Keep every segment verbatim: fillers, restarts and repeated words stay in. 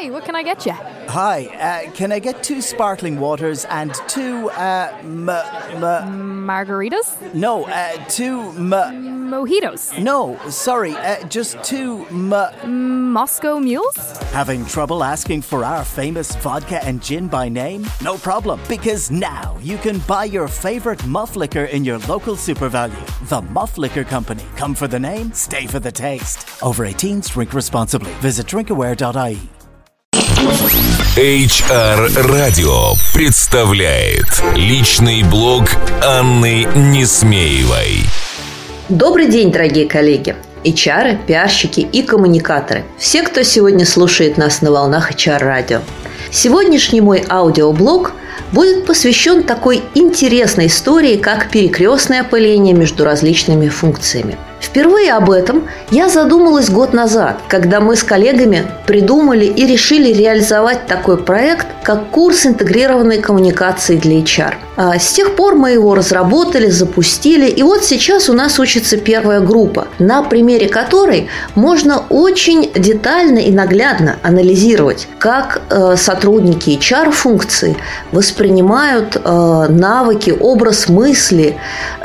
Hi, what can I get you? Hi, uh, can I get two sparkling waters and two, uh, m- m- Margaritas? no, uh, two, m- Mojitos? no, sorry, uh, just two, m- Moscow Mules? Having trouble asking for our famous vodka and gin by name? No problem, because now you can buy your favorite Muff Liquor in your local SuperValue. The Muff Liquor Company. Come for the name, stay for the taste. Over eighteens, drink responsibly. Visit drinkaware dot I E. эйч ар Radio представляет личный блог Анны Несмеевой. Добрый день, дорогие коллеги, эйч ар, пиарщики и коммуникаторы. Все, кто сегодня слушает нас на волнах эйч ар Radio. Сегодняшний мой аудиоблог будет посвящен такой интересной истории, как перекрестное опыление между различными функциями. Впервые об этом я задумалась год назад, когда мы с коллегами придумали и решили реализовать такой проект, как курс интегрированной коммуникации для эйч ар. А с тех пор мы его разработали, запустили, и вот сейчас у нас учится первая группа, на примере которой можно очень детально и наглядно анализировать, как э, сотрудники эйч ар-функции воспринимают э, навыки, образ мысли,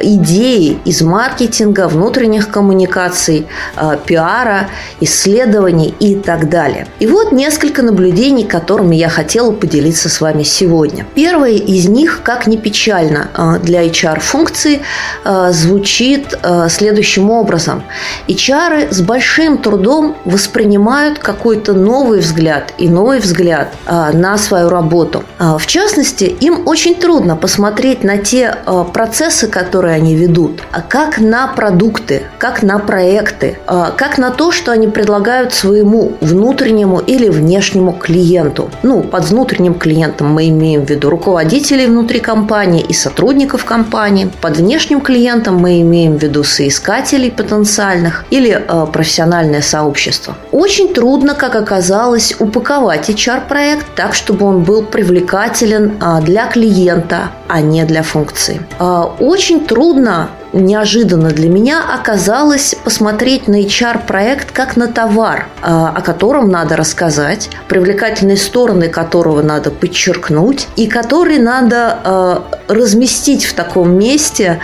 идеи из маркетинга, внутренних коммуникаций, э, пиара, исследований и так далее. И вот несколько наблюдений, которыми я хотела поделиться с вами сегодня. Первое из них, как ни печально э, для эйч ар-функции, э, звучит э, следующим образом. эйч ар с большим трудом воспринимают какой-то новый взгляд и новый взгляд э, на свою работу. Э, в частности, им очень трудно посмотреть на те э, процессы, которые они ведут, как на продукты, как на проекты, как на то, что они предлагают своему внутреннему или внешнему клиенту. Ну, под внутренним клиентом мы имеем в виду руководителей внутри компании и сотрудников компании. Под внешним клиентом мы имеем в виду соискателей потенциальных или профессиональное сообщество. Очень трудно, как оказалось, упаковать эйч ар-проект так, чтобы он был привлекателен для клиента, а не для функции. Очень трудно, неожиданно для меня оказалось посмотреть на эйч ар-проект как на товар, о котором надо рассказать, привлекательные стороны которого надо подчеркнуть и который надо разместить в таком месте,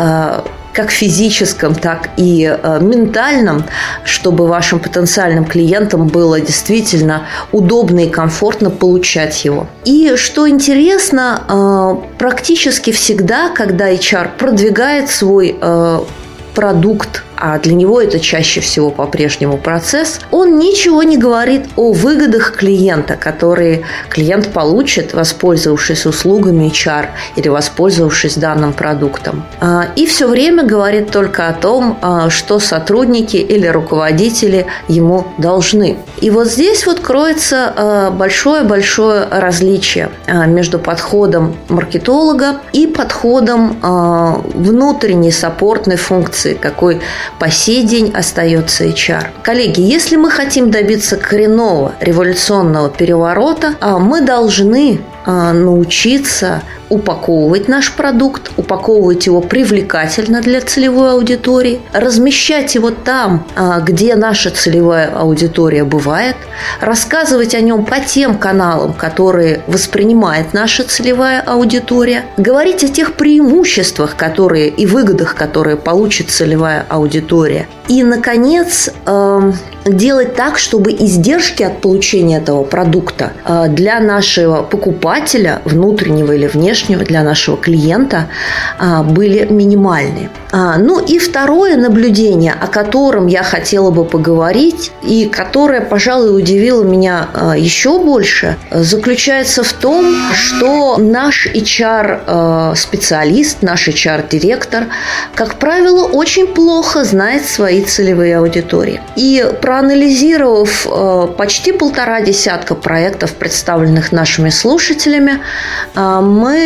как физическом, так и э, ментальном, чтобы вашим потенциальным клиентам было действительно удобно и комфортно получать его. И что интересно, э, практически всегда, когда эйч ар продвигает свой э, продукт, а для него это чаще всего по-прежнему процесс, он ничего не говорит о выгодах клиента, которые клиент получит, воспользовавшись услугами эйч ар или воспользовавшись данным продуктом. И все время говорит только о том, что сотрудники или руководители ему должны. И вот здесь вот кроется большое-большое различие между подходом маркетолога и подходом внутренней саппортной функции, какой по сей день остается эйч ар. Коллеги, если мы хотим добиться коренного революционного переворота, мы должны научиться упаковывать наш продукт, упаковывать его привлекательно для целевой аудитории, размещать его там, где наша целевая аудитория бывает, рассказывать о нем по тем каналам, которые воспринимает наша целевая аудитория, говорить о тех преимуществах, которые и выгодах, которые получит целевая аудитория. И, наконец, делать так, чтобы издержки от получения этого продукта для нашего покупателя, внутреннего или внешнего, для нашего клиента, были минимальны. Ну и второе наблюдение, о котором я хотела бы поговорить, и которое, пожалуй, удивило меня еще больше, заключается в том, что наш эйч ар-специалист, наш эйч ар-директор, как правило, очень плохо знает свои целевые аудитории. И проанализировав почти полтора десятка проектов, представленных нашими слушателями, мы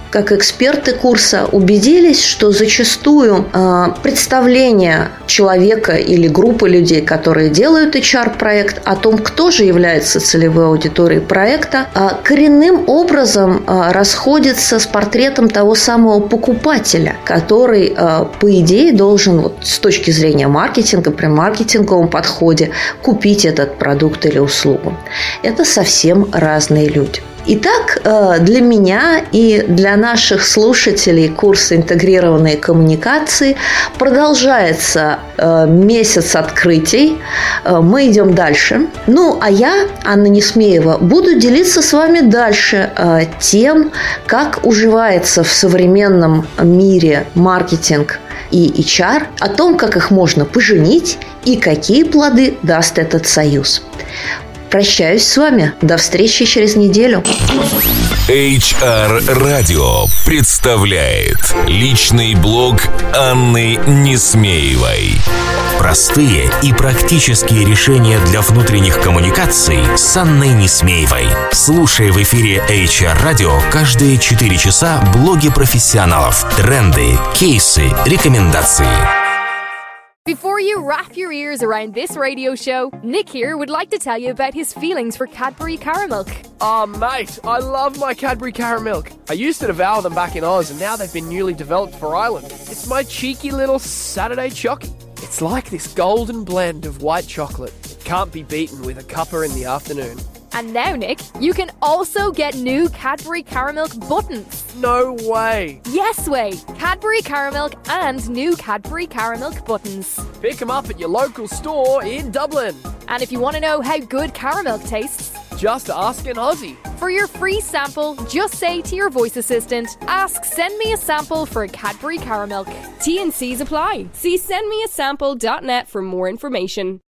как эксперты курса, убедились, что зачастую э, представление человека или группы людей, которые делают эйч ар-проект, о том, кто же является целевой аудиторией проекта, э, коренным образом э, расходится с портретом того самого покупателя, который, э, по идее, должен вот, с точки зрения маркетинга, при маркетинговом подходе, купить этот продукт или услугу. Это совсем разные люди. Итак, для меня и для наших слушателей курса «Интегрированные коммуникации» продолжается месяц открытий. Мы идем дальше. Ну, а я, Анна Несмеева, буду делиться с вами дальше тем, как уживается в современном мире маркетинг и эйч ар, о том, как их можно поженить и какие плоды даст этот союз. Прощаюсь с вами. До встречи через неделю. эйч ар Радио представляет личный блог Анны Несмеевой. Простые и практические решения для внутренних коммуникаций с Анной Несмеевой. Слушай в эфире эйч ар Радио каждые четыре часа блоги профессионалов, тренды, кейсы, рекомендации. Before you wrap your ears around this radio show, Nick here would like to tell you about his feelings for Cadbury Caramilk. Oh, mate, I love my Cadbury Caramilk. I used to devour them back in Oz, and now they've been newly developed for Ireland. It's my cheeky little Saturday chocky. It's like this golden blend of white chocolate. It can't be beaten with a cuppa in the afternoon. And now, Nick, you can also get new Cadbury Caramilk buttons. No way. Yes way. Cadbury Caramilk and new Cadbury Caramilk buttons. Pick them up at your local store in Dublin. And if you want to know how good caramilk tastes, just ask an Aussie. For your free sample, just say to your voice assistant, ask send me a sample for Cadbury Caramilk. T and C's apply. See send me a sample dot net for more information.